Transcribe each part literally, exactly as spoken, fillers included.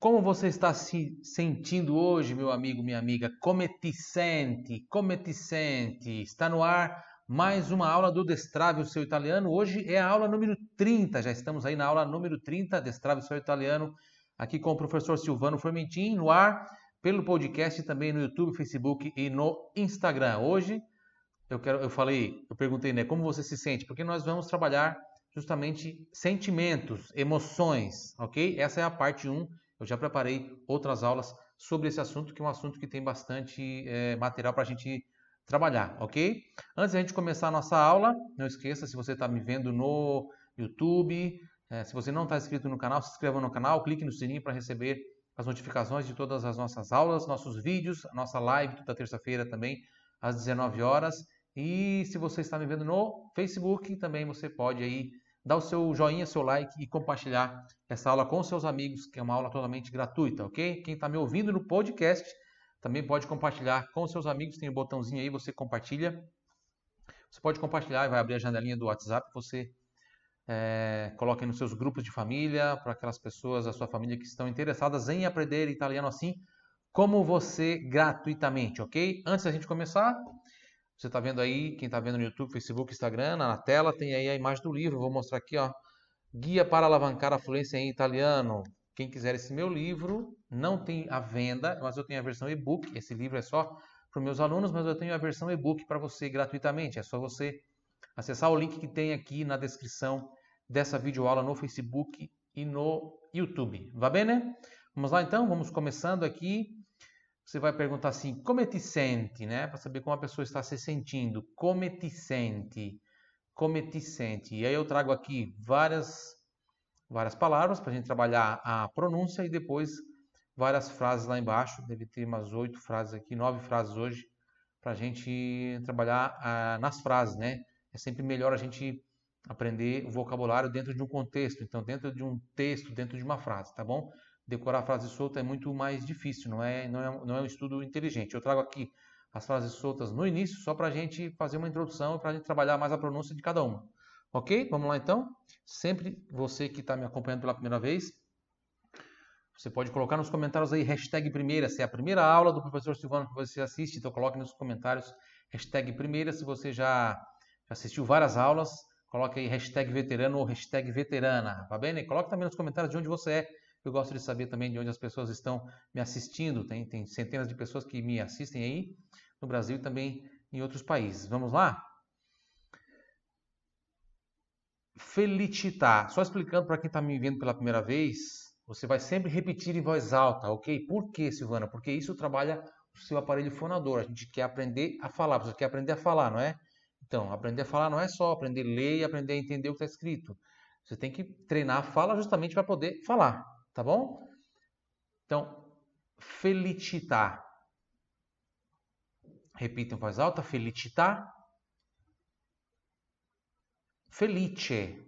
Como você está se sentindo hoje, meu amigo, minha amiga? Come ti senti? Come ti senti? Está no ar mais uma aula do Destrave o Seu Italiano. Hoje é a aula número trinta, já estamos aí na aula número trinta, Destrave o Seu Italiano, aqui com o professor Silvano Formentin, no ar, pelo podcast, também no YouTube, Facebook e no Instagram. Hoje eu quero, eu falei, eu perguntei, né, como você se sente? Porque nós vamos trabalhar justamente sentimentos, emoções, ok? Essa é a parte um. Eu já preparei outras aulas sobre esse assunto, que é um assunto que tem bastante é, material para a gente trabalhar, ok? Antes de a gente começar a nossa aula, não esqueça, se você está me vendo no YouTube, é, se você não está inscrito no canal, se inscreva no canal, clique no sininho para receber as notificações de todas as nossas aulas, nossos vídeos, a nossa live toda terça-feira também, às dezenove horas. E se você está me vendo no Facebook, também você pode aí dar o seu joinha, seu like e compartilhar essa aula com seus amigos, que é uma aula totalmente gratuita, ok? Quem está me ouvindo no podcast também pode compartilhar com seus amigos, tem o um botãozinho aí, você compartilha. Você pode compartilhar e vai abrir a janelinha do WhatsApp, você é, coloque nos seus grupos de família, para aquelas pessoas da sua família que estão interessadas em aprender italiano assim como você, gratuitamente, ok? Antes da gente começar, você está vendo aí, quem está vendo no YouTube, Facebook, Instagram, na tela tem aí a imagem do livro. Vou mostrar aqui, ó, Guia para Alavancar a Fluência em Italiano. Quem quiser esse meu livro, não tem à venda, mas eu tenho a versão e-book. Esse livro é só para os meus alunos, mas eu tenho a versão e-book para você gratuitamente. É só você acessar o link que tem aqui na descrição dessa videoaula no Facebook e no YouTube. Va bene? Vamos lá então, vamos começando aqui. Você vai perguntar assim, come ti senti, né? Para saber como a pessoa está se sentindo. Come ti senti? Come ti senti? E aí eu trago aqui várias, várias palavras para a gente trabalhar a pronúncia e depois várias frases lá embaixo. Deve ter umas oito frases aqui, nove frases hoje, para a gente trabalhar ah, nas frases, né? É sempre melhor a gente aprender o vocabulário dentro de um contexto. Então, dentro de um texto, dentro de uma frase, tá bom? Decorar a frase solta é muito mais difícil, não é, não é, não é um estudo inteligente. Eu trago aqui as frases soltas no início, só para a gente fazer uma introdução e para a gente trabalhar mais a pronúncia de cada uma. Ok? Vamos lá então? Sempre você que está me acompanhando pela primeira vez, você pode colocar nos comentários aí hashtag primeira, se é a primeira aula do professor Silvano que você assiste, então coloque nos comentários hashtag primeira. Se você já assistiu várias aulas, coloque aí hashtag veterano ou hashtag veterana, tá bem? Coloque também nos comentários de onde você é. Eu gosto de saber também de onde as pessoas estão me assistindo. Tem, tem centenas de pessoas que me assistem aí no Brasil e também em outros países. Vamos lá? Felicità. Só explicando para quem está me vendo pela primeira vez, você vai sempre repetir em voz alta, ok? Por quê, Silvana? Porque isso trabalha o seu aparelho fonador. A gente quer aprender a falar. Você quer aprender a falar, não é? Então, aprender a falar não é só aprender a ler e aprender a entender o que está escrito. Você tem que treinar a fala justamente para poder falar. Tá bom? Então, felicità. Repita em voz alta. Felicità. Felice.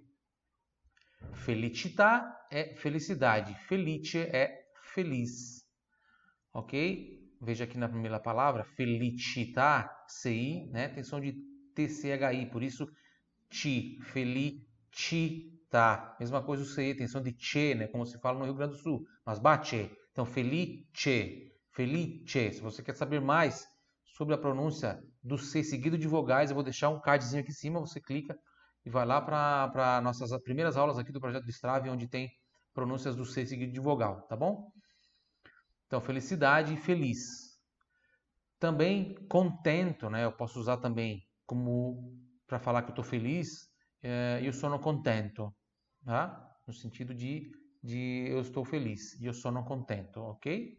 Felicità é felicidade. Felice é feliz. Ok? Veja aqui na primeira palavra. Felicità. C I, né? Tem som de T C H I. Por isso, ti. Felicità. Tá, mesma coisa o C E, tem som de che, né? Como se fala no Rio Grande do Sul. Mas bate. Então, felice. Felice. Se você quer saber mais sobre a pronúncia do C seguido de vogais, eu vou deixar um cardzinho aqui em cima. Você clica e vai lá para nossas primeiras aulas aqui do projeto Destrave, onde tem pronúncias do C seguido de vogal, tá bom? Então, felicidade e feliz. Também contento, né? Eu posso usar também como para falar que eu estou feliz. Eh, io sono contento. Tá? No sentido de, de eu estou feliz, io sono contento, ok?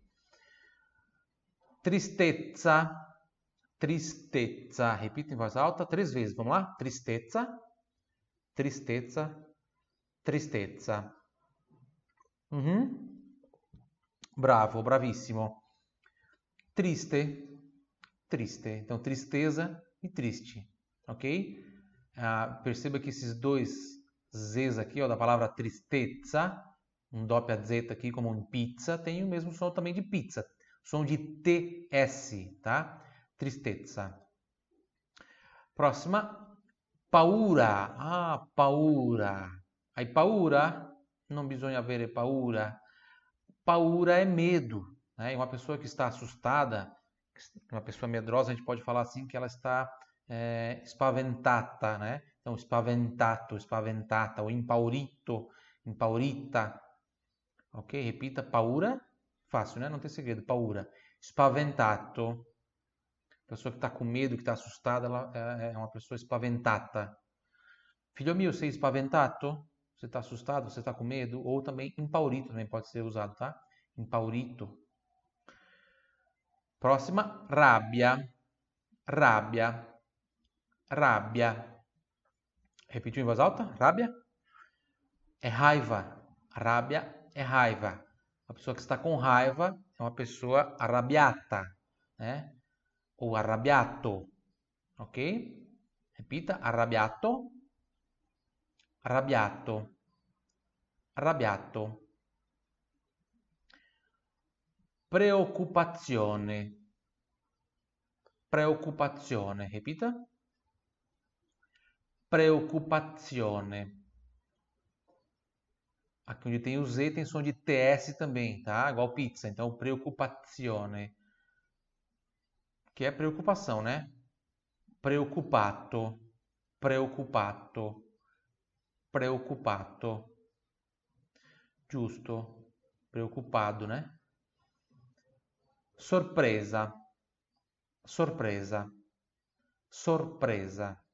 Tristezza, tristezza, repita em voz alta três vezes, vamos lá? Tristezza, tristezza, tristezza. Uhum. Bravo, bravissimo. Triste, triste, então tristeza e triste, ok? Ah, perceba que esses dois Z's aqui, ó, da palavra tristezza, um doppia Z aqui como um pizza, tem o mesmo som também de pizza, som de T S, tá? Tristezza. Próxima, paura. Ah, paura. Hai paura? Non bisogna avere paura. Paura é medo, né? E uma pessoa que está assustada, uma pessoa medrosa, a gente pode falar assim que ela está é, spaventata, né? Então, spaventato, spaventata, ou impaurito, impaurita. Ok? Repita, paura. Fácil, né? Não tem segredo. Paura. Spaventato. Pessoa que está com medo, que está assustada, ela é é uma pessoa spaventata. Filho meu, sei spaventato? Você está assustado? Você está com medo? Ou também impaurito também pode ser usado, tá? Impaurito. Próxima, rabbia. Rabbia. Rabbia. Repetiu em voz alta? Rabbia? É raiva. Rabbia é raiva. A pessoa que está com raiva é uma pessoa arrabbiata, né? Ou arrabbiato, ok? Repita, arrabbiato. Arrabbiato. Arrabbiato. Preoccupazione. Preoccupazione. Repita. Preoccupazione. Aqui onde tem o Z tem som de T S também, tá? Igual pizza. Então, preoccupazione. Que é preocupação, né? Preoccupato. Preoccupato. Preoccupato. Giusto. Preoccupado, né? Sorpresa. Sorpresa. Sorpresa.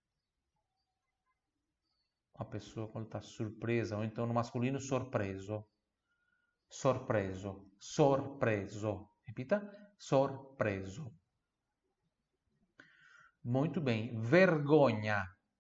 Uma pessoa quando está surpresa, ou então no masculino, sorpreso. Sorpreso. Sorpreso. Repita. Sorpreso. Muito bem. Vergogna.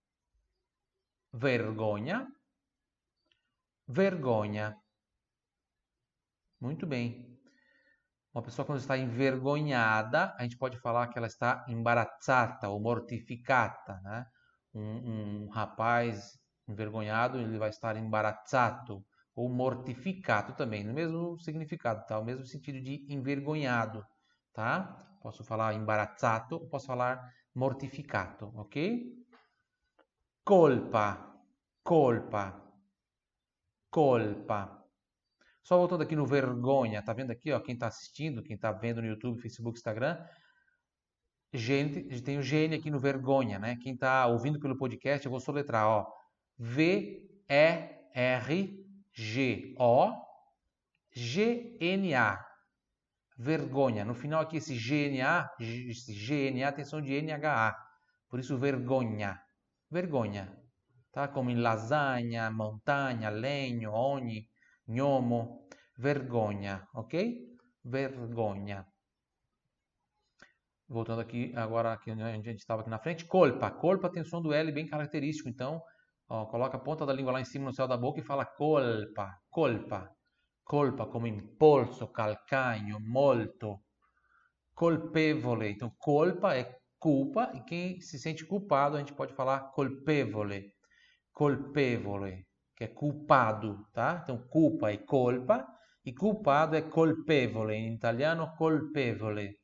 Vergogna. Vergogna. Muito bem. Uma pessoa quando está envergonhada, a gente pode falar que ela está embarazzata ou mortificata, né? Um, um rapaz envergonhado, ele vai estar embarazzato ou mortificato também, no mesmo significado, tá? O mesmo sentido de envergonhado, tá? Posso falar imbarazzato, posso falar mortificato, ok? Colpa, colpa, colpa. Só voltando aqui no vergonha, tá vendo aqui, ó, quem está assistindo, quem está vendo no YouTube, Facebook, Instagram, gente, tem o gene aqui no vergonha, né? Quem está ouvindo pelo podcast, eu vou soletrar, ó, V E R G O G N A, vergonha. No final aqui esse G N A, esse G N A tem som de N H A, por isso vergonha, vergonha, tá? Como em lasanha, montanha, legno, ogni, gnomo, vergonha, ok? Vergonha. Voltando aqui, agora aqui onde a gente estava aqui na frente, colpa. Colpa tem o som do L bem característico, então, ó, coloca a ponta da língua lá em cima no céu da boca e fala colpa, colpa. Colpa come impolso, calcagno, molto. Colpevole. Então, colpa é culpa e quem se sente culpado a gente pode falar colpevole. Colpevole, que é culpado, tá? Então, culpa é colpa e culpado é colpevole. In italiano, colpevole.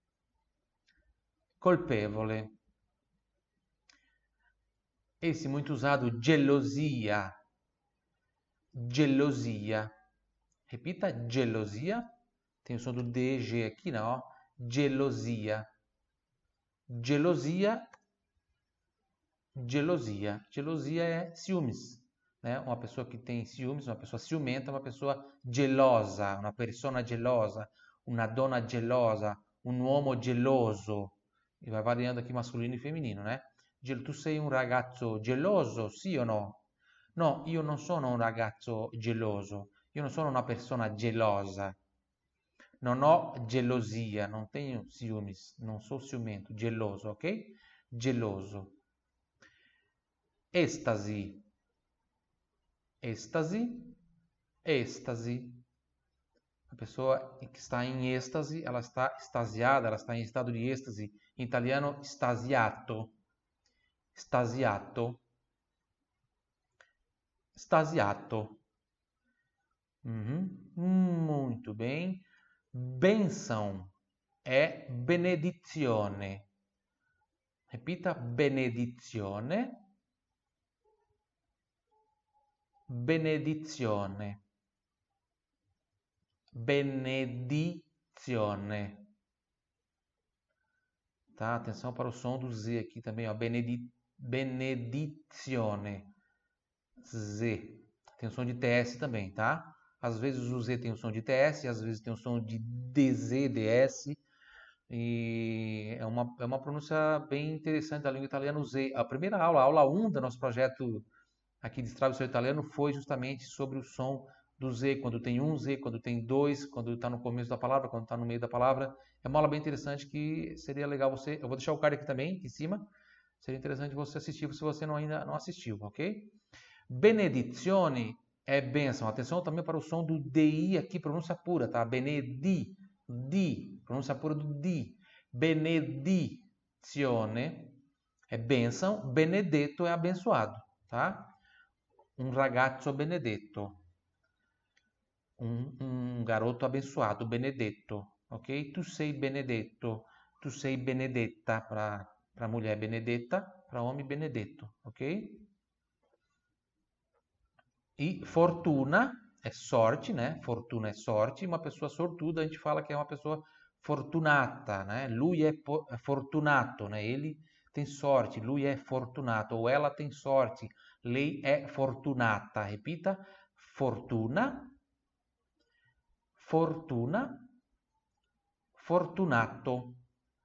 Colpevole. Esse muito usado, gelosia. Gelosia. Repita, gelosia. Tem o som do D G aqui, não? Gelosia. Gelosia. Gelosia. Gelosia é ciúmes, né? Uma pessoa que tem ciúmes, uma pessoa ciumenta, uma pessoa gelosa, uma persona gelosa, uma donna gelosa, um uomo geloso. E vai variando aqui masculino e feminino, né? Tu sei un ragazzo geloso, sì o no? No, io non sono un ragazzo geloso, io non sono una persona gelosa. Non ho gelosia, non tenho ciúmes, non sou ciumento, geloso, ok? Geloso. Estasi. Estasi. Estasi. A pessoa que está em êxtase, ela está extasiada, ela está em estado de êxtase. Em italiano, estasiato. Estasiato. Estasiato. Uhum. Muito bem. Benção é benedizione. Repita, benedizione. Benedizione. benedizione. Tá? Atenção para o som do Z aqui também, ó. Benedi benedizione. Z. Tem o som de T S também, tá? Às vezes o Z tem o som de T S, às vezes tem o som de D Z, D S. E é uma, é uma pronúncia bem interessante da língua italiana, o Z. A primeira aula, a aula um do nosso projeto aqui de Destrave o Seu Italiano, foi justamente sobre o som do Z, quando tem um Z, quando tem dois, quando está no começo da palavra, quando está no meio da palavra. É uma aula bem interessante que seria legal você... Eu vou deixar o card aqui também, aqui em cima. Seria interessante você assistir se você não, ainda não assistiu, ok? Benedizione é bênção. Atenção também para o som do D I aqui, pronúncia pura, tá? Benedi, di, pronúncia pura do di. Benedizione é bênção, benedetto é abençoado, tá? Um ragazzo benedetto. Um, um garoto abençoado, benedetto, ok? Tu sei benedetto, tu sei benedetta para para mulher benedetta, para homem benedetto, ok? E fortuna é sorte, né? Fortuna é sorte. Uma pessoa sortuda, a gente fala que é uma pessoa fortunata, né? Lui é fortunato, né? Ele tem sorte, lui é fortunato, ou ela tem sorte, lei è fortunata. Repita, fortuna, fortuna, fortunato.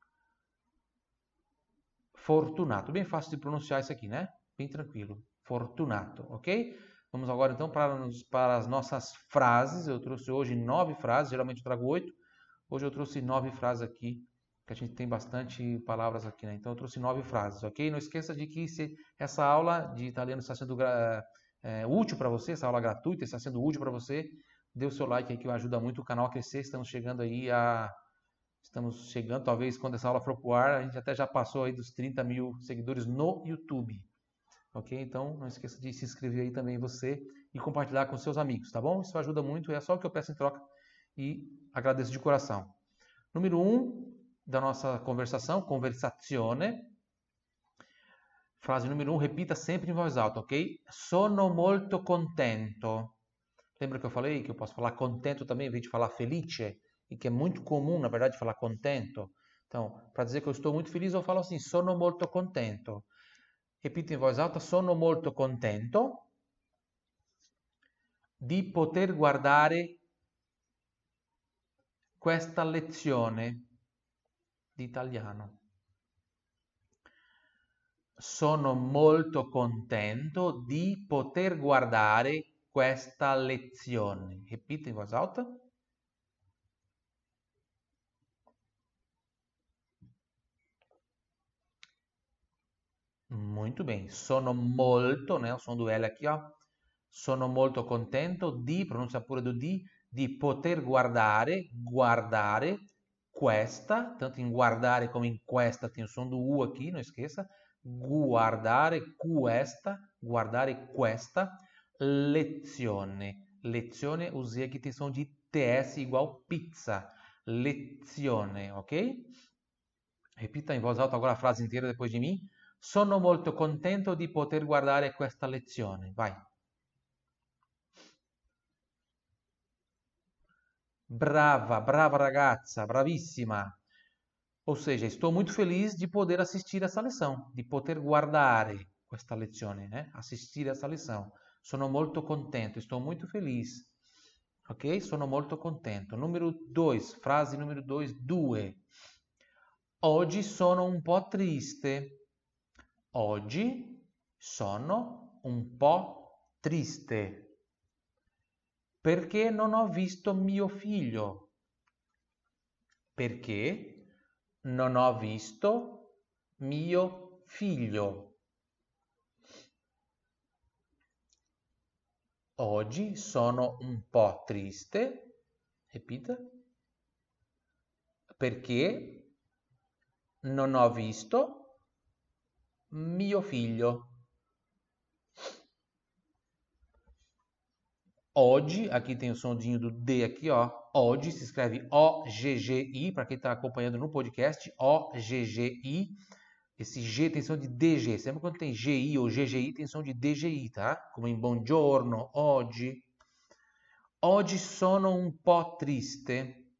Fortunato, bem fácil de pronunciar isso aqui, né? Bem tranquilo. Fortunato, ok? Vamos agora então para, para as nossas frases. Eu trouxe hoje nove frases, geralmente eu trago oito. Hoje eu trouxe nove frases aqui, que a gente tem bastante palavras aqui, né? Então eu trouxe nove frases, ok? Não esqueça de que se essa aula de italiano está sendo é, útil para você, essa aula gratuita está sendo útil para você, dê o seu like aí que ajuda muito o canal a crescer. Estamos chegando aí a... Estamos chegando, talvez quando essa aula for pro ar, a gente até já passou aí dos trinta mil seguidores no YouTube. Ok? Então, não esqueça de se inscrever aí também você e compartilhar com seus amigos, tá bom? Isso ajuda muito, é só o que eu peço em troca e agradeço de coração. Número um da nossa conversação, conversazione. Frase número um, repita sempre em voz alta, ok? Sono molto contento. Lembra que eu falei que eu posso falar contento também, em vez de falar felice? E que é muito comum, na verdade, falar contento. Então, para dizer que eu estou muito feliz, eu falo assim, sono molto contento. Repito em voz alta, sono molto contento di poter guardare questa lezione di italiano. Sono molto contento di poter guardare questa lezione. Repito in voz alta. Muito bem. Sono molto, né? O som do L aqui, ó. Sono molto contento di, pronuncia pure do di, di poter guardare, guardare questa, tanto in guardare come in questa tem o som do U aqui, não esqueça. Guardare questa, guardare questa lezione. Lezione, o Z aqui tem som de T S igual pizza. Lezione, ok? Repita in voz alta agora a frase inteira depois de mim. Sono molto contento di poter guardare questa lezione. Vai. Brava, brava ragazza, bravissima. Ou seja, estou muito feliz de poder assistir essa lição, de poter guardare questa lezione, né? Assistir essa lição. Sono molto contento, estou muito feliz. Ok? Sono molto contento. Número dois, frase número dois, due. Oggi sono un po' triste. Oggi sono un po' triste perché non ho visto mio figlio. Perché non ho visto mio figlio. Oggi sono un po' triste. Repita. Perché non ho visto mio figlio. Oggi, aqui tem o sondinho do D aqui, ó. Oggi se escreve O G G I, para quem está acompanhando no podcast, O G G I. Esse G tem som de D G. Sempre quando tem G I ou G G I, tem som de D G I, tá? Como em buongiorno, oggi. Oggi sono un po' triste.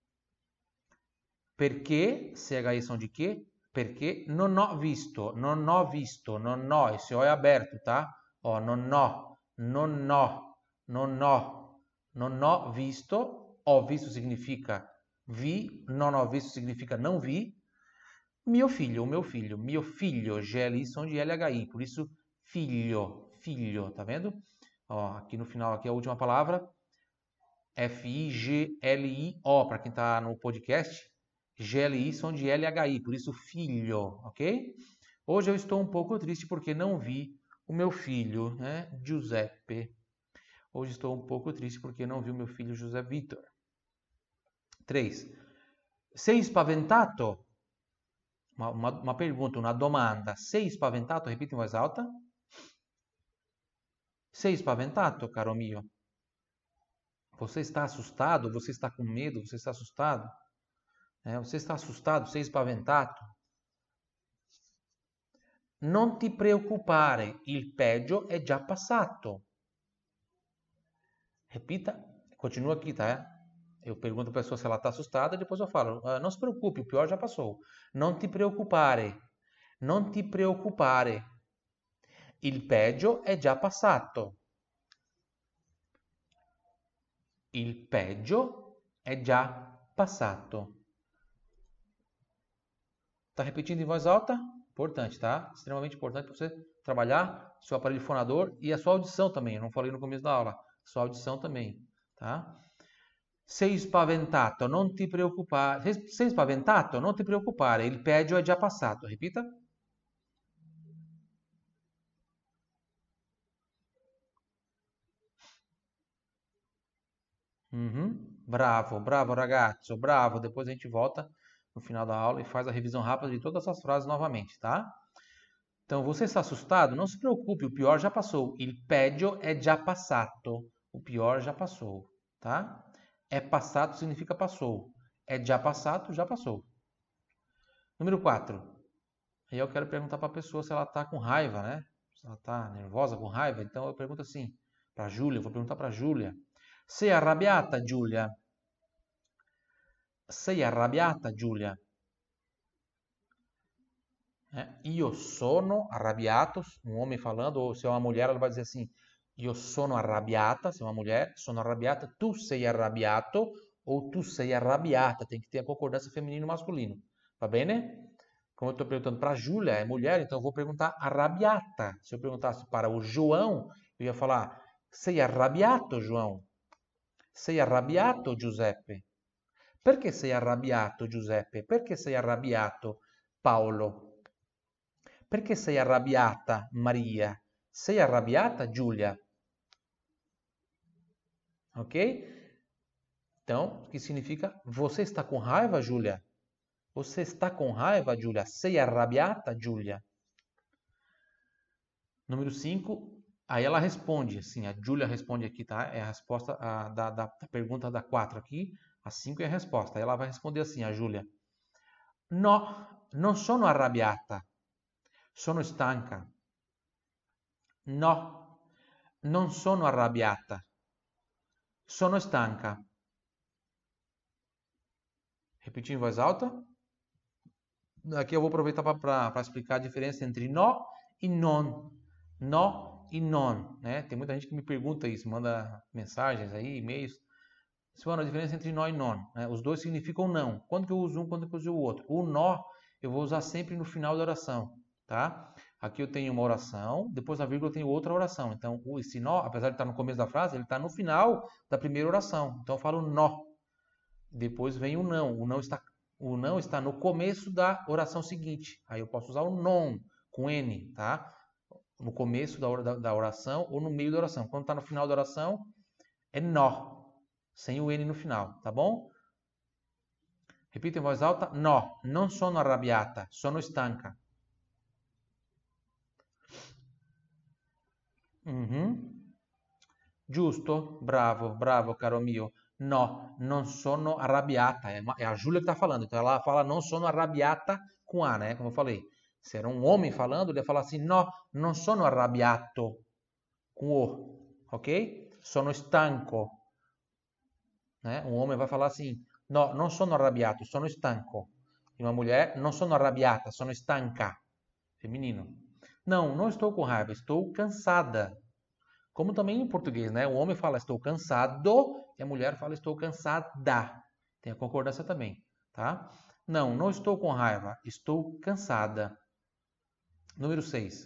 Perché? C H I som de che? Perché non ho visto, non ho visto, non ho, esse O è aberto, tá? Ó, non ho, non ho, non ho, non ho visto. Ho visto significa vi, non ho visto significa não vi. Mio figlio, o meu filho, mio figlio, G L I som de L H I, por isso filho, filho, tá vendo? Ó, aqui no final, aqui é a última palavra, F I G L I O, para quem está no podcast, G L I som de L H I, por isso filho, ok? Hoje eu estou um pouco triste porque não vi o meu filho, né, Giuseppe. Hoje estou um pouco triste porque não vi o meu filho José Vitor. três. Sei spaventato? Uma, uma, uma pergunta, uma domanda. Sei spaventato? Repita em voz alta. Sei spaventato, caro mio? Você está assustado? Você está com medo? Você está assustado? É, você está assustado? Sei spaventato? Non ti preoccupare, il peggio è già passato. Repita, continua aqui, tá? Eu pergunto a pessoa se ela está assustada, depois eu falo, ah, não se preocupe, o pior já passou. Non ti preoccupare, non ti preoccupare, il peggio è già passato. Il peggio è già passato. Tá repetindo em voz alta? Importante, tá? Extremamente importante para você trabalhar seu aparelho fonador e a sua audição também. Eu não falei no começo da aula. Sua audição também, tá? Sei spaventato, non ti preoccupare. Sei spaventato, non ti preoccupare. Il peggio è già passato. Repita. Uhum. Bravo, bravo ragazzo, bravo. Depois a gente volta no final da aula e faz a revisão rápida de todas essas frases novamente, tá? Então, você está assustado? Não se preocupe, o pior já passou. Il peggio è già passato. O pior já passou, tá? É passado significa passou. É já passado, já passou. Número quatro. Aí eu quero perguntar para a pessoa se ela está com raiva, né? Se ela está nervosa, com raiva. Então eu pergunto assim, para a Júlia, vou perguntar para a Júlia. Sei arrabbiata, Giulia? Sei arrabbiata, Giulia? É, io sono arrabbiato, um homem falando, ou se é uma mulher, ela vai dizer assim, io sono arrabbiata, se é uma mulher, sono arrabbiata, tu sei arrabbiato, ou tu sei arrabbiata, tem que ter a concordância feminino e masculino, va bene? Como eu estou perguntando para a Júlia, é mulher, então eu vou perguntar arrabbiata. Se eu perguntasse para o João, eu ia falar, sei arrabbiato, João? Sei arrabbiato, Giuseppe? Perché sei arrabbiato, Giuseppe? Perché sei arrabbiato, Paolo? Perché sei arrabbiata, Maria? Sei arrabbiata, Giulia? Ok? Então, o que significa? Você está com raiva, Giulia? Você está com raiva, Giulia? Sei arrabbiata, Giulia? Número cinco. Aí ela responde, assim, a Giulia responde aqui, tá? É a resposta a, da, da, da pergunta da quatro aqui. A cinco é a resposta. Aí ela vai responder assim, a Giulia. No, non sono arrabbiata. Sono stanca. No, non sono arrabbiata. Sono stanca. Repetir em voz alta. Aqui eu vou aproveitar para explicar a diferença entre no e non. No e non, né? Tem muita gente que me pergunta isso, manda mensagens aí, e-mails. Qual a diferença entre nó e non? Né? Os dois significam não. Quando que eu uso um, quando que eu uso o outro? O nó eu vou usar sempre no final da oração, tá? Aqui eu tenho uma oração, depois da vírgula eu tenho outra oração. Então, esse nó, apesar de estar no começo da frase, ele está no final da primeira oração. Então, eu falo nó. Depois vem o não. O não está, o não está no começo da oração seguinte. Aí eu posso usar o non, com N, tá? No começo da, da oração ou no meio da oração. Quando está no final da oração, é nó, sem o N no final, tá bom? Repita em voz alta. No, non sono arrabbiata, sono stanca. Uhum. Giusto, bravo, bravo, caro mio. No, non sono arrabbiata. É, é a Júlia que está falando. Então ela fala non sono arrabbiata com A, né? Como eu falei. Se era um homem falando, ele ia falar assim: no, non sono arrabbiato com O, ok? Sono stanco. né? Um homem vai falar assim: no, non sono arrabbiato, sono stanco. E uma mulher: non sono arrabbiata, sono stanca. Feminino. Não, não estou com raiva, estou cansada. Como também em português, né? O homem fala estou cansado e a mulher fala estou cansada. Tem a concordância também, tá? Não, não estou com raiva, estou cansada. Número seis.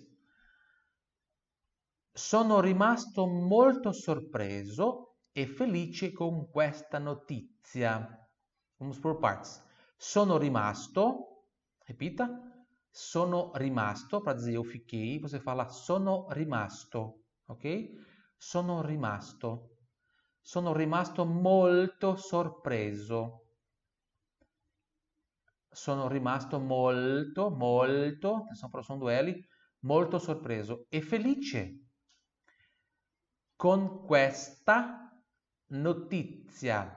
Sono rimasto molto sorpreso e felice con questa notizia. Vamos por partes. Sono rimasto, repita. Sono rimasto, para dizer eu fiquei, você fala sono rimasto, ok? Sono rimasto. Sono rimasto molto sorpreso. Sono rimasto molto, molto, atenção para o som do L, molto sorpreso e felice con questa notizia.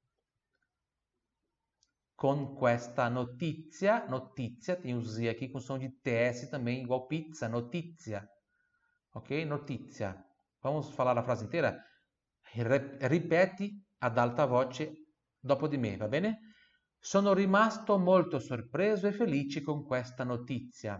Con questa notizia, notizia, tem o Z aqui com som de T S também, igual pizza, notizia. Ok? Notizia. Vamos falar a frase inteira? Ripeti ad alta voce dopo di me, va bene? Sono rimasto molto sorpreso e felice con questa notizia.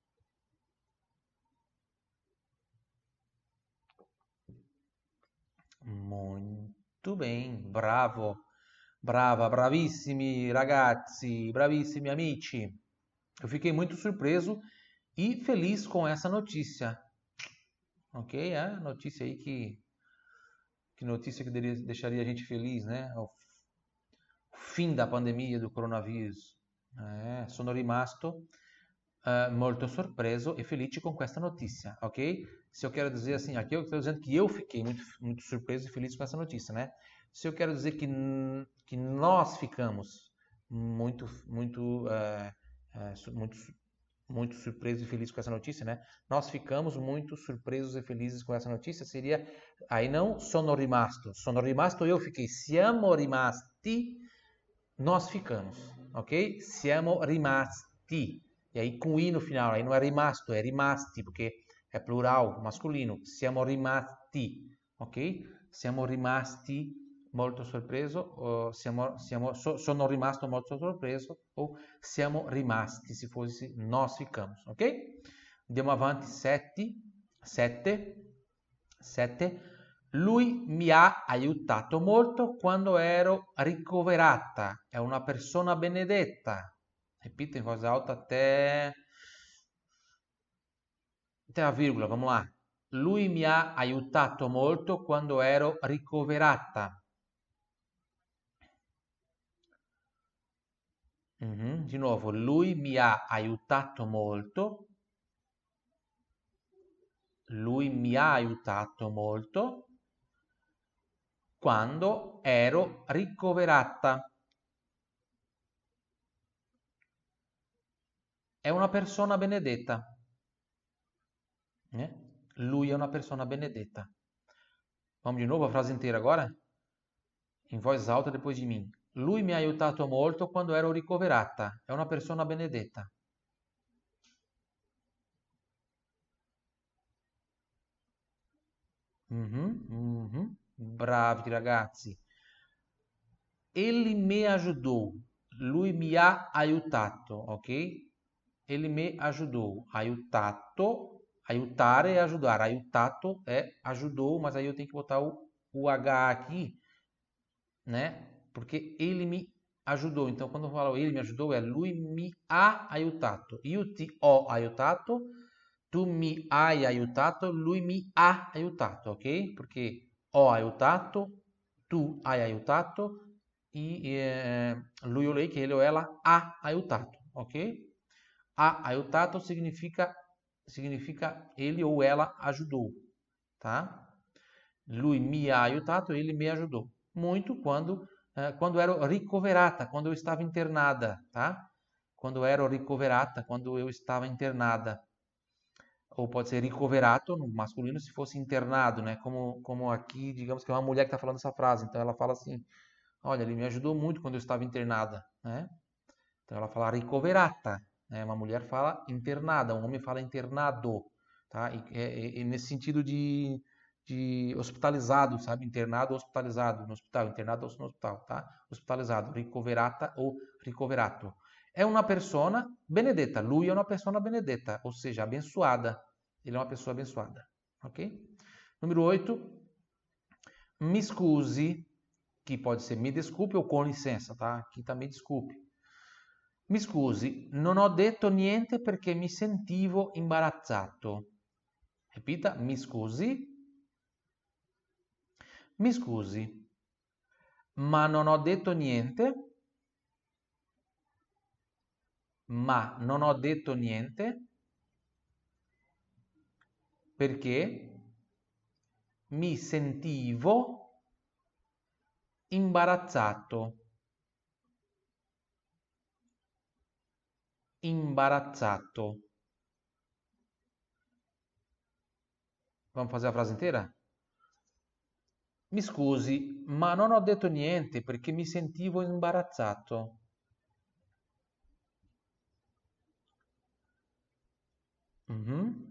Muito bem, bravo, brava, bravissimi ragazzi, bravissimi amici. Eu fiquei muito surpreso e feliz com essa notícia. Ok? É notícia aí que, que notícia que deixaria a gente feliz, né? O fim da pandemia do coronavírus. É, sono rimasto uh, molto sorpreso e felice com questa notícia, ok? Se eu quero dizer assim, aqui eu estou dizendo que eu fiquei muito, muito surpreso e feliz com essa notícia, né? Se eu quero dizer que, que nós ficamos muito, muito, uh, uh, muito, muito surpresos e felizes com essa notícia, né? Nós ficamos muito surpresos e felizes com essa notícia, seria, aí não sono rimasto, sono rimasto eu fiquei, siamo rimasti, nós ficamos, ok? Siamo rimasti. E aí com i no final, aí não é rimasto, é rimasti, porque é plural, masculino. Siamo rimasti, ok? Siamo rimasti molto sorpreso, o siamo, siamo, so, sono rimasto molto sorpreso, ou siamo rimasti, se fosse nós ficamos, ok? Andiamo avanti, sette, sette, sette. Lui mi ha aiutato molto quando ero ricoverata. È una persona benedetta. Repita in voz alta até, até a virgola, vamos lá. Lui mi ha aiutato molto quando ero ricoverata. Mhm. Di nuovo, lui mi ha aiutato molto. Lui mi ha aiutato molto quando ero ricoverata. È una persona benedetta. Eh? Lui è una persona benedetta. Vamos de novo a frase inteira agora? Em voz alta depois de mim. Lui mi ha aiutato molto quando ero ricoverata. È una persona benedetta. Mhm, mhm. Bravi ragazzi. Ele me ajudou. Lui mi ha aiutato, ok? Ele me ajudou. Aiutato, aiutare é ajudar. Aiutato é ajudou, mas aí eu tenho que botar o, o H aqui, né? Porque ele me ajudou. Então, quando eu falo ele me ajudou, é lui mi ha aiutato. Io ti ho aiutato, tu mi hai aiutato, lui mi ha aiutato, ok? Porque ho aiutato, tu hai aiutato e eh, lui o lei, che ele ou ela ha aiutato, ok? Ha aiutato significa, significa ele ou ela ajudou, tá? Lui mi ha aiutato, ele me ajudou. Muito quando, eh, quando ero ricoverata, quando eu estava internada, tá? Quando ero ricoverata, quando eu estava internada. Ou pode ser ricoverato no masculino se fosse internado, né? Como, como aqui, digamos que é uma mulher que está falando essa frase. Então ela fala assim: olha, ele me ajudou muito quando eu estava internada, né? Então ela fala ricoverata, né? Uma mulher fala internada, um homem fala internado, tá? E, e, e nesse sentido de, de hospitalizado, sabe? Internado ou hospitalizado no hospital, internado ou no hospital, tá? Hospitalizado, ricoverata ou ricoverato. É uma persona benedetta, lui é uma persona benedetta, ou seja, abençoada. Ele é uma pessoa abençoada, ok? Número oito, mi scusi, que pode ser me desculpe ou com licença, tá? Aqui tá me desculpe. Mi scusi, non ho detto niente perché mi sentivo imbarazzato. Ripeta, mi scusi. Mi scusi, ma non ho detto niente. Ma non ho detto niente perché mi sentivo imbarazzato. Imbarazzato. Vamos fazer a frase inteira? Mi scusi, ma non ho detto niente perché mi sentivo imbarazzato. Mhm.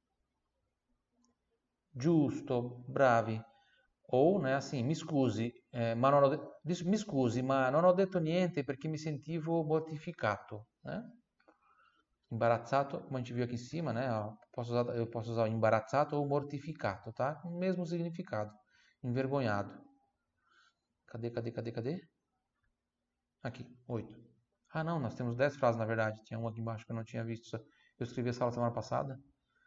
Giusto, bravi. Ou, né, assim, mi scusi, eh, ma non ho de- dis- mi scusi, ma non ho detto niente perché mi sentivo mortificato, né? Imbarazzato, como a gente viu aqui em cima, né? Ó, posso usar, eu posso usar imbarazzato ou mortificato, tá? O mesmo significado. Envergonhado. Cadê, cadê, cadê, cadê? Aqui, oito. Ah, não, nós temos dez frases, na verdade. Tinha uma aqui embaixo que eu não tinha visto. Eu escrevi essa aula semana passada.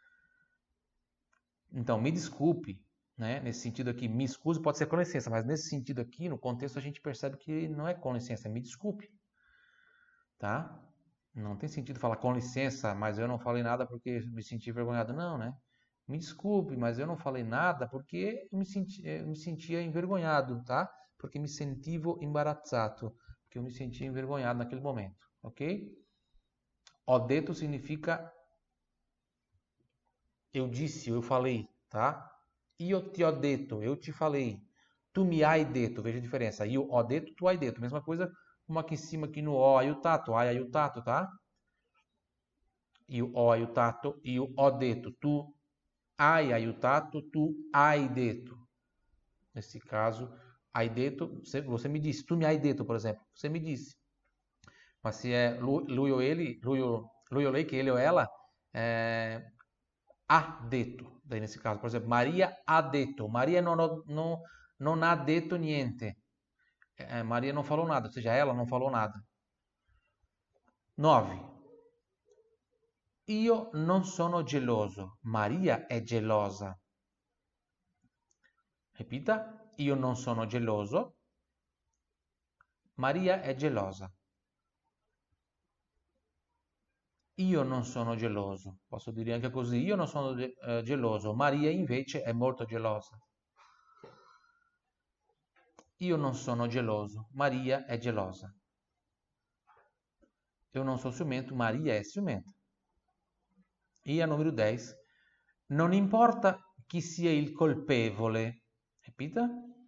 Então, me desculpe, né? Nesse sentido aqui, me excuse pode ser com licença, mas nesse sentido aqui, no contexto, a gente percebe que não é com licença, é me desculpe, tá? Não tem sentido falar com licença, mas eu não falei nada porque me senti envergonhado. Não, né? Me desculpe, mas eu não falei nada porque eu me, senti, eu me sentia envergonhado, tá? Porque me sentivo imbarazzato, porque eu me sentia envergonhado naquele momento, ok? Ho detto significa eu disse, eu falei, tá? Io ti ho detto, eu te falei. Tu mi hai detto, veja a diferença. Io ho detto, tu hai detto. Mesma coisa, como aqui em cima, aqui no ho aiutato, hai aiutato, tá? Io ho aiutato, io ho detto, tu hai aiutato, tu hai detto. Nesse caso, hai detto, você, você me disse, tu me hai detto, por exemplo, você me disse. Mas se é lui, lui ou ele, lui ou, lui ou lei, que ele ou ela, é, ha detto. Daí nesse caso, por exemplo, Maria ha detto. Maria non, ho- non, non ha detto niente. É, Maria não falou nada, ou seja, ela não falou nada. nove. Io non sono geloso. Maria è gelosa. Ripeta, io non sono geloso. Maria è gelosa. Io non sono geloso. Posso dire anche così, io non sono eh, geloso. Maria invece è molto gelosa. Io non sono geloso. Maria è gelosa. Eu não sou ciumento. Maria é ciumenta. E a número dez. Non importa chi sia il colpevole. Ripeta.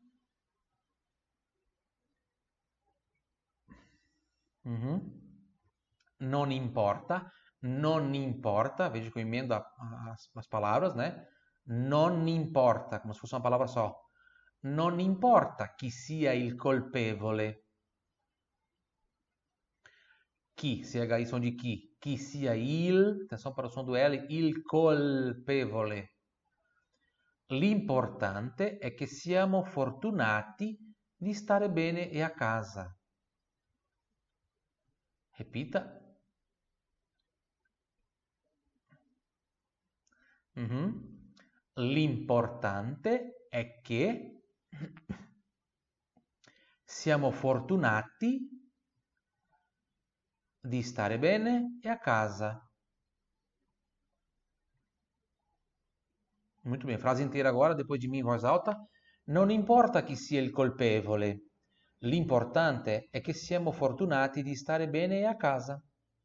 Mhm. Non importa, non importa, veja que eu emendo a- as, as palavras, né? Non importa, como se fosse uma palavra só. Non importa chi sia il colpevole. Chi, C H I som de chi. Chi sia il, atenção para o som do L, il colpevole. L'importante è che siamo fortunati di stare bene e a casa. Repita. Mhm. L'importante è che siamo fortunati di stare bene e a casa. Muito bem, frase inteira agora, depois de mim em voz alta. Non importa chi sia il colpevole, l'importante è che siamo fortunati di stare bene e a casa.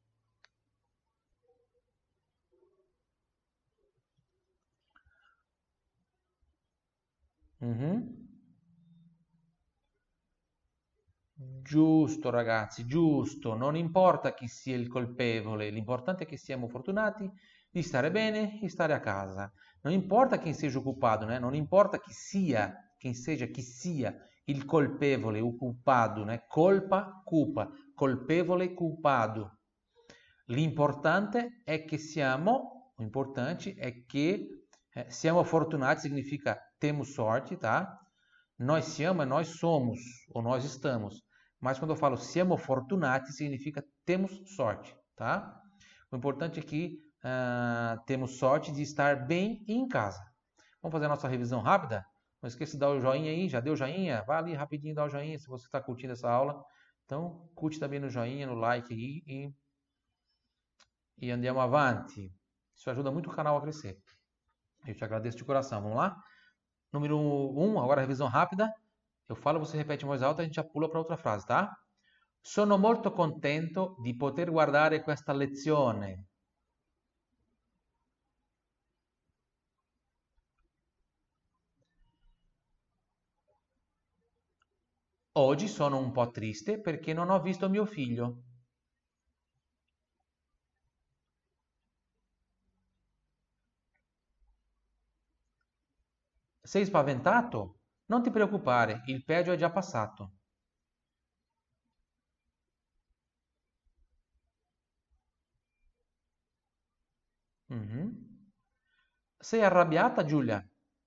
Mhm. Giusto ragazzi, giusto, non importa chi sia il colpevole, l'importante è che siamo fortunati di stare bene e stare a casa. Non importa quem seja o culpado, né? Non importa chi sia, quem seja, chi sia il colpevole, o culpado, né? Colpa, culpa, colpevole, culpado. L'importante è che siamo, o importante è che eh, siamo fortunati, significa temos sorte, tá? Nós siamo e nós somos, ou nós estamos. Mas quando eu falo siamo fortunati, significa temos sorte, tá? O importante é que uh, temos sorte de estar bem em casa. Vamos fazer a nossa revisão rápida? Não esqueça de dar o joinha aí, já deu joinha? Vá ali rapidinho dar o joinha se você está curtindo essa aula. Então, curte também no joinha, no like aí e, e andiamo avanti. Isso ajuda muito o canal a crescer. Eu te agradeço de coração. Vamos lá? Número um, agora a revisão rápida. Eu falo, você repete em voz alta, a gente já pula para outra frase, tá? Sono molto contento di poter guardare questa lezione. Oggi sono un po' triste perché non ho visto mio figlio. Sei spaventato? Non ti preoccupare, il peggio è già passato. Mhm. Sei arrabbiata, Giulia?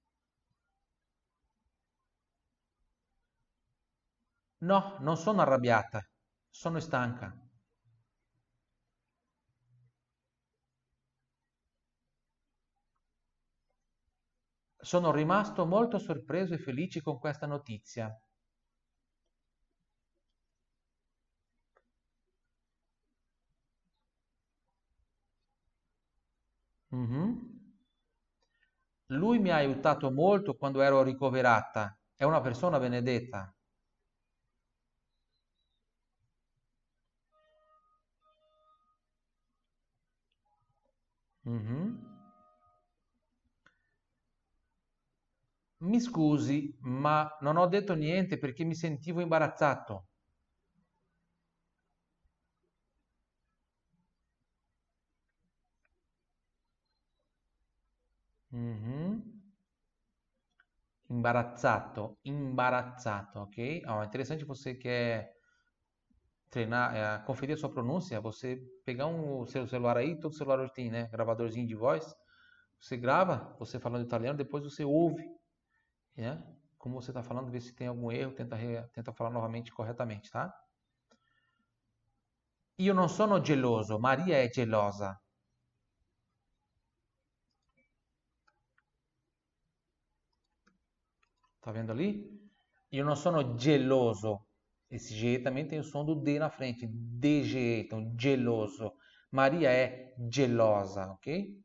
No, non sono arrabbiata, sono stanca. Sono rimasto molto sorpreso e felice con questa notizia. Mhm. Lui mi ha aiutato molto quando ero ricoverata. È una persona benedetta. Mhm. Mi scusi, ma non ho detto niente perché mi sentivo imbarazzato. Mhm. Imbarazzato, imbarazzato, ok? Ó, é interessante você quer treinar, é, conferir a sua pronúncia, você pegar um seu celular aí, todo celular hoje tem, né, gravadorzinho de voz, você grava, você falando italiano, depois você ouve, né? Como você está falando, vê se tem algum erro, tenta, re- tenta falar novamente corretamente, tá? Io non sono geloso, Maria è gelosa. Tá vendo ali? Io non sono geloso. Esse G também tem o som do D na frente. D G, então geloso. Maria é gelosa, ok?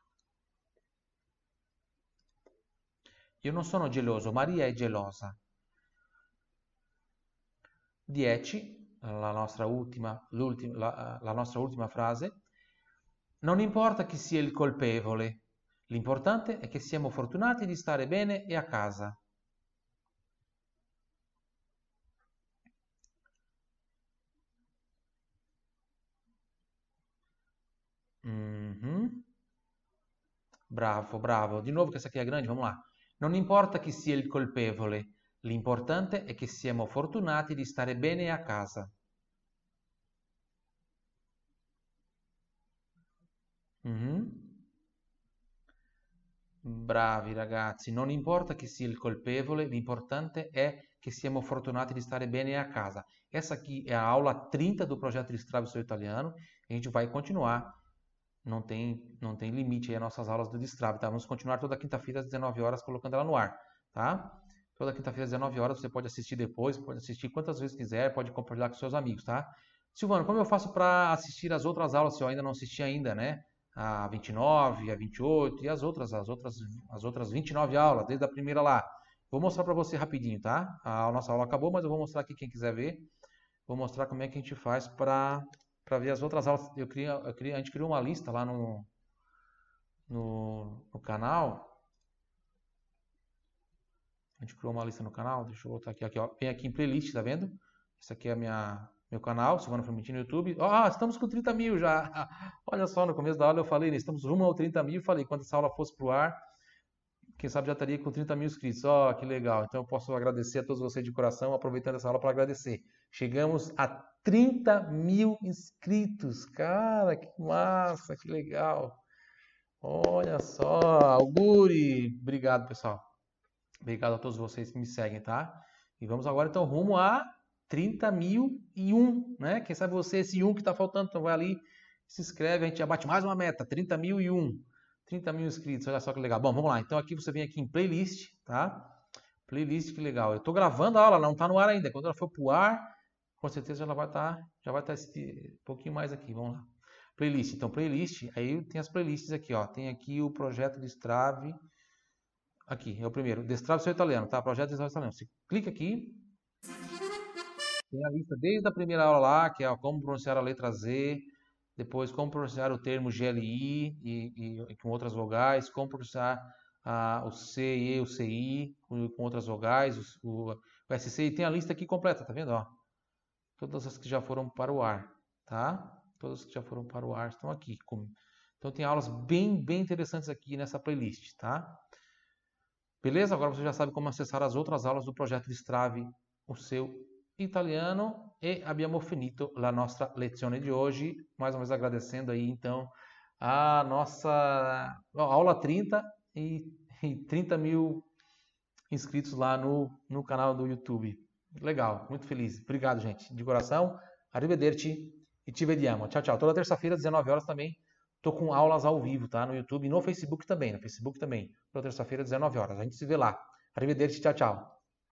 Io non sono geloso, Maria è gelosa. dieci, la nostra ultima, l'ultima- la, la nostra ultima frase. Non importa chi sia il colpevole, l'importante è che siamo fortunati di stare bene e a casa. Mhm. Bravo, bravo. Di nuovo questa qui è grande, vamos lá. Non importa chi sia il colpevole, l'importante è che siamo fortunati di stare bene a casa. Mhm. Bravi ragazzi, non importa chi sia il colpevole, l'importante è che siamo fortunati di stare bene a casa. Essa aqui é a aula trinta do projeto Destrave o Seu Italiano. A gente vai continuar. Não tem, não tem limite aí as nossas aulas do Destrave, tá? Vamos continuar toda quinta-feira às dezenove horas colocando ela no ar, tá? Toda quinta-feira às dezenove horas você pode assistir depois, pode assistir quantas vezes quiser, pode compartilhar com seus amigos, tá? Silvano, como eu faço para assistir as outras aulas se eu ainda não assisti ainda, né? A vinte e nove, a vinte e oito e as outras, as outras, as outras vinte e nove aulas, desde a primeira lá. Vou mostrar para você rapidinho, tá? A nossa aula acabou, mas eu vou mostrar aqui quem quiser ver. Vou mostrar como é que a gente faz para para ver as outras aulas. Eu queria, eu queria, a gente criou uma lista lá no, no, no canal. A gente criou uma lista no canal. Deixa eu voltar aqui, aqui, ó. Vem aqui em playlist, tá vendo? Essa aqui é a minha, meu canal, Silvano Formentin no YouTube. Ah, estamos com trinta mil já. Olha só, no começo da aula eu falei, né, estamos rumo ao trinta mil. Falei, quando essa aula fosse pro ar, quem sabe já estaria com trinta mil inscritos. Ó, que legal. Então eu posso agradecer a todos vocês de coração, aproveitando essa aula para agradecer. Chegamos a trinta mil inscritos. Cara, que massa, que legal. Olha só, Auguri. Obrigado, pessoal. Obrigado a todos vocês que me seguem, tá? E vamos agora então rumo a trinta mil e um, né? Quem sabe você, esse um que tá faltando, então vai ali, se inscreve, a gente já bate mais uma meta, trinta mil e um. trinta mil inscritos, olha só que legal. Bom, vamos lá. Então aqui você vem aqui em playlist, tá? Playlist, que legal. Eu tô gravando a aula, não tá no ar ainda. Quando ela for pro ar, com certeza ela vai estar, já vai estar um pouquinho mais aqui. Vamos lá. Playlist. Então, playlist, aí tem as playlists aqui, ó. Tem aqui o projeto Destrave. Aqui, é o primeiro. Destrave seu italiano, tá? Projeto Destrave seu italiano. Você clica aqui. Tem a lista desde a primeira aula lá, que é ó, como pronunciar a letra Z. Depois, como pronunciar o termo G L I e, e, e com outras vogais. Como pronunciar ah, o C e o C I com, com outras vogais. O, o S C. E tem a lista aqui completa, tá vendo? Ó? Todas as que já foram para o ar, tá? Todas que já foram para o ar estão aqui. Então tem aulas bem, bem interessantes aqui nessa playlist, tá? Beleza? Agora você já sabe como acessar as outras aulas do projeto Destrave o seu italiano. E abbiamo finito la nostra lezione de hoje. Mais uma vez agradecendo aí, então, a nossa aula trinta e, e trinta mil inscritos lá no, no canal do YouTube. Legal, muito feliz. Obrigado, gente, de coração. Arrivederci e ci vediamo. Tchau, tchau. Toda terça-feira, às dezenove horas também, tô com aulas ao vivo, tá? No YouTube e no Facebook também. No Facebook também. Toda terça-feira, às dezenove horas. A gente se vê lá. Arrivederci, tchau, tchau.